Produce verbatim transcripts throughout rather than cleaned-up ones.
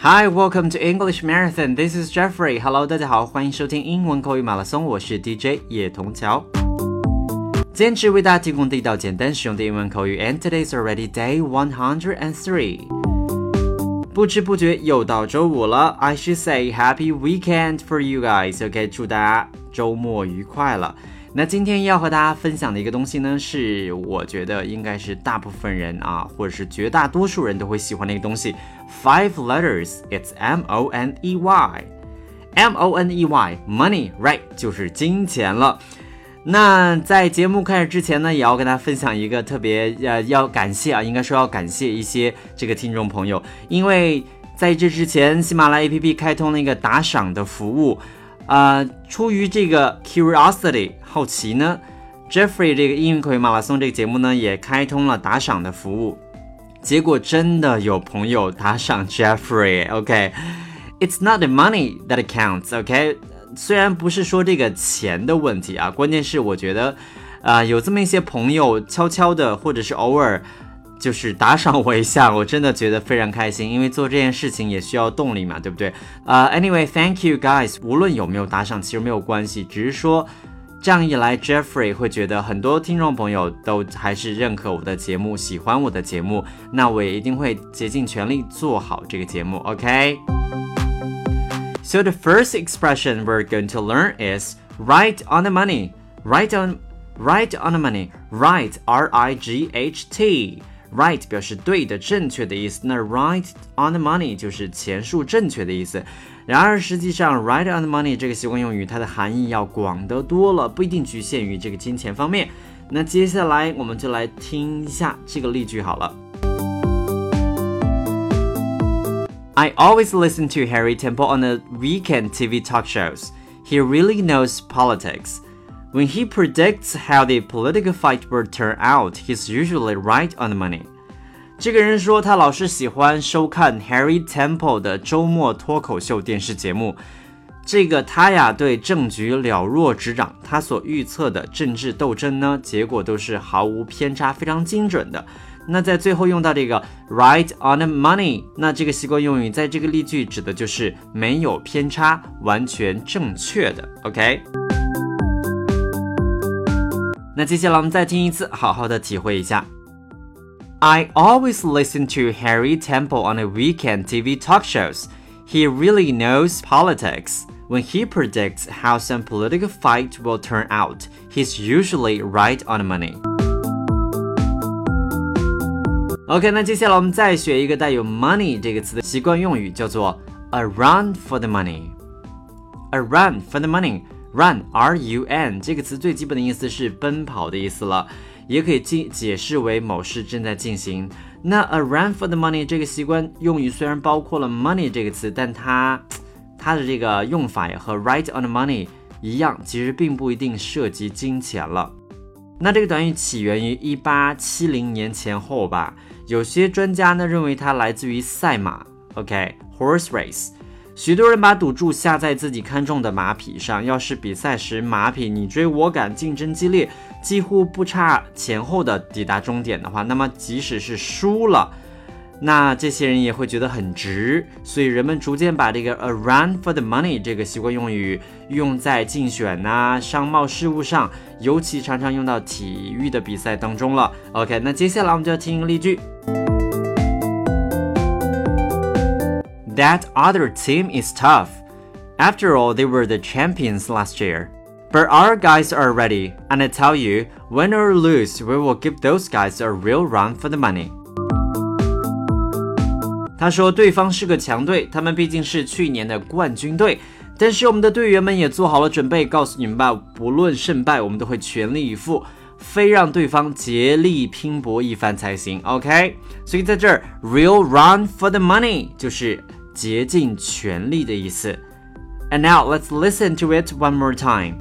Hi, welcome to English Marathon. This is Jeffrey. Hello, 大家好，欢迎收听英文口语马拉松，我是 D J 叶童桥。坚持为大家提供地道简单实用的英文口语 and today's already day one hundred three. 不知不觉又到周五了 I should say happy weekend for you guys. OK, 祝大家周末愉快了。那今天要和大家分享的一个东西呢，是我觉得应该是大部分人啊，或者是绝大多数人都会喜欢的一个东西。Five letters, it's M O N E Y. M O N E Y, money, right, 就是金钱了。那在节目开始之前呢，也要跟大家分享一个特别呃，要感谢啊，应该说要感谢一些这个听众朋友，因为在这之前，喜马拉雅 A P P 开通了一个打赏的服务。呃，出于这个 curiosity 好奇呢 Jeffrey 这个英语口语马拉松这个节目呢也开通了打赏的服务，结果真的有朋友打赏 Jeffrey. OK, it's not the money that counts. OK, 虽然不是说这个钱的问题啊，关键是我觉得呃，有这么一些朋友悄悄的或者是偶尔就是打赏我一下，我真的觉得非常开心，因为做这件事情也需要动力嘛，对不对？呃、uh, ，Anyway, thank you guys. 无论有没有打赏，其实没有关系，只是说这样一来 ，Jeffrey 会觉得很多听众朋友都还是认可我的节目，喜欢我的节目，那我也一定会竭尽全力做好这个节目 ，OK? So the first expression we're going to learn is right on the money. Right on, right on the money. Right, R I G H T.Right 表示对的正确的意思，那 right on the money 就是钱数正确的意思。然而实际上 right on the money 这个习惯用语它的含义要广得多了，不一定局限于这个金钱方面。那接下来我们就来听一下这个例句好了。I always listen to Harry Temple on the weekend T V talk shows. He really knows politics.When he predicts how the political fight will turn out, he's usually right on the money. 这个人说他老是喜欢收看 Harry Temple 的周末脱口秀电视节目。这个他呀对政局了若指掌，他所预测的政治斗争呢，结果都是毫无偏差，非常精准的。那在最后用到这个 right on the money， 那这个习惯用语在这个例句指的就是没有偏差，完全正确的 OK。那接下来我们再听一次，好好的体会一下。I always listen to Harry Temple on the weekend T V talk shows. He really knows politics. When he predicts how some political fight will turn out, he's usually right on the money. OK, 那接下来我们再学一个带有 money 这个词的习惯用语，叫做 a run for the money. A run for the money.Run, R U N 这个词最基本的意思是奔跑的意思了，也可以解释为某事正在进行。那 a run for the money 这个习惯用语虽然包括了 money 这个词，但它它的这个用法也和 right on the money 一样，其实并不一定涉及金钱了。那这个短语起源于一八七零年前后吧，有些专家呢认为它来自于赛马 OK, horse race。许多人把赌注下在自己看中的马匹上，要是比赛时马匹你追我赶，竞争激烈，几乎不差前后的抵达终点的话，那么即使是输了，那这些人也会觉得很值。所以人们逐渐把这个 a run for the money 这个习惯用语用在竞选啊、商贸事务上，尤其常常用到体育的比赛当中了。 OK, 那接下来我们就要听一个例句。That other team is tough. After all, they were the champions last year. But our guys are ready, and I tell you, win or lose, we will give those guys a real run for the money. 他说对方是个强队，他们毕竟是去年的冠军队，但是我们的队员们也做好了准备，告诉你们吧，不论胜败，我们都会全力以赴，非让对方竭力拼搏一番才行 OK, 所以在这儿 real run for the money 就是竭尽全力的意思。 And now let's listen to it one more time.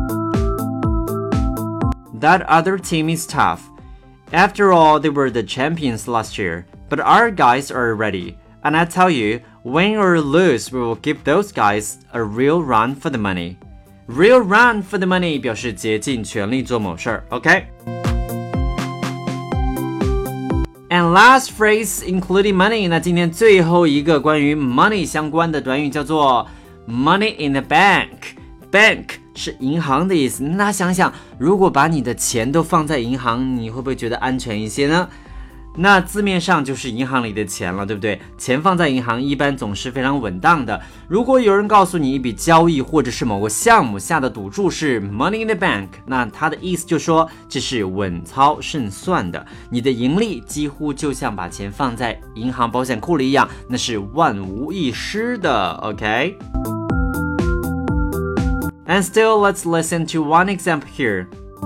That other team is tough. After all, they were the champions last year, but our guys are ready. And I tell you, win or lose, we will give those guys a real run for the money. Real run for the money 表示竭尽全力做某事儿 OK? And last phrase including money， 那今天最后一个关于 money 相关的短语叫做 money in the bank。bank 是银行的意思，那大家想想，如果把你的钱都放在银行，你会不会觉得安全一些呢？那字面上就是银行里的钱了，对不对？钱放在银行一般总是非常稳当的。如果有人告诉你一笔交易或者是某个项目下的赌注是 money in the bank， 那他的意思就说这是稳操胜算的，你的盈利几乎就像把钱放在银行保险库里一样，那是万无一失的 OK？ And still, let's listen to one example here.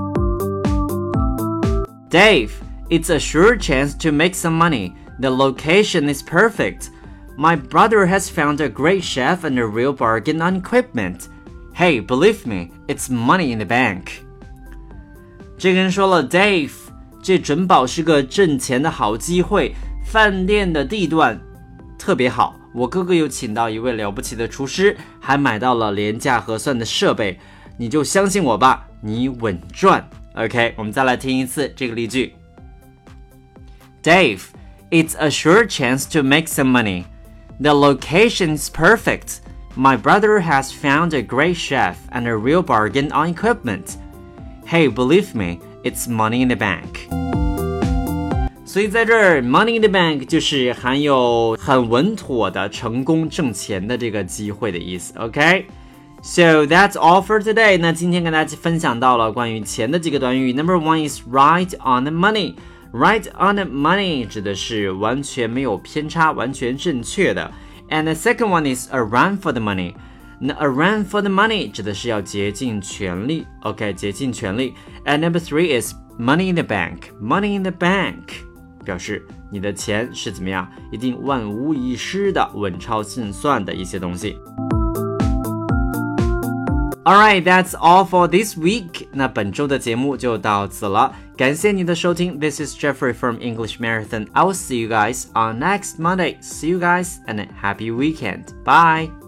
Dave,It's a sure chance to make some money. The location is perfect. My brother has found a great chef and a real bargain on equipment. Hey, believe me, it's money in the bank. 这个人说了 Dave, 这准保是个挣钱的好机会，饭店的地段特别好，我哥哥又请到一位了不起的厨师，还买到了廉价合算的设备，你就相信我吧，你稳赚。 OK, 我们再来听一次这个例句。Dave, it's a sure chance to make some money. The location is perfect. My brother has found a great chef and a real bargain on equipment. Hey, believe me, it's money in the bank. 所以在这儿 money in the bank 就是含有很稳妥的成功挣钱的这个机会的意思 OK? So that's all for today. 那今天跟大家分享到了关于钱的几个短语。 Number one is right on the money.Right on the money 指的是完全没有偏差，完全正确的。And the second one is a run for the money. 那 a run for the money 指的是要竭尽全力 OK 竭尽全力。 And number three is money in the bank. Money in the bank 表示你的钱是怎么样，一定万无一失的，稳操胜算的一些东西。Alright, that's all for this week. 那本周的节目就到此了，感谢你的收听。This is Jeffrey from English Marathon. I will see you guys on next Monday. See you guys and a happy weekend. Bye.